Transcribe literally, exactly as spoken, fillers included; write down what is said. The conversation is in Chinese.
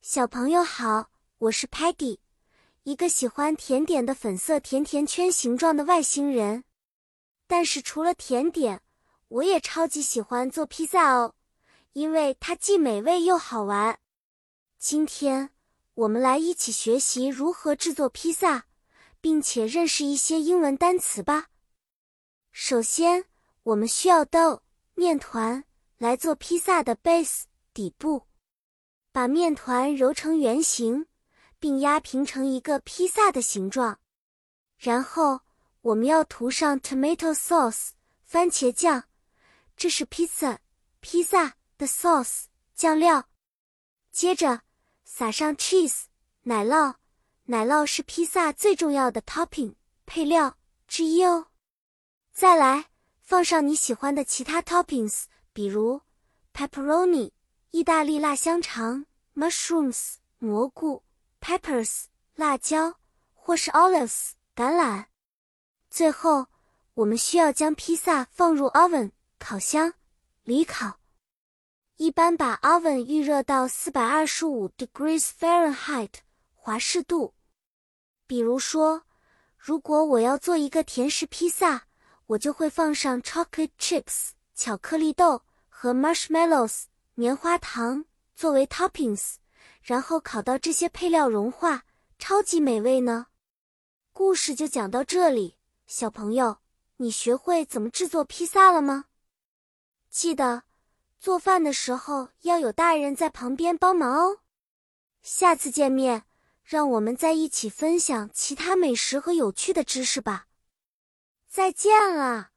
小朋友好，我是 Peggy， 一个喜欢甜点的粉色甜甜圈形状的外星人。但是除了甜点，我也超级喜欢做披萨哦，因为它既美味又好玩。今天，我们来一起学习如何制作披萨，并且认识一些英文单词吧。首先，我们需要 dough 面团来做披萨的 base 底部。把面团揉成圆形，并压平成一个披萨的形状。然后，我们要涂上 tomato sauce 番茄酱，这是 pizza 披萨的 sauce 酱料。接着，撒上 cheese 奶酪，奶酪是披萨最重要的 topping 配料之一哦。再来，放上你喜欢的其他 toppings， 比如 pepperoni 意大利辣香肠 mushrooms 蘑菇 peppers 辣椒，或是 olives 橄榄。最后，我们需要将披萨放入 oven 烤箱里烤。一般把 oven 预热到四百二十五 degrees Fahrenheit 华氏度。比如说，如果我要做一个甜食披萨，我就会放上 chocolate chips 巧克力豆和 marshmallows 棉花糖作为 toppings， 然后烤到这些配料融化，超级美味呢。故事就讲到这里，小朋友，你学会怎么制作披萨了吗？记得，做饭的时候要有大人在旁边帮忙哦。下次见面，让我们再一起分享其他美食和有趣的知识吧。再见了。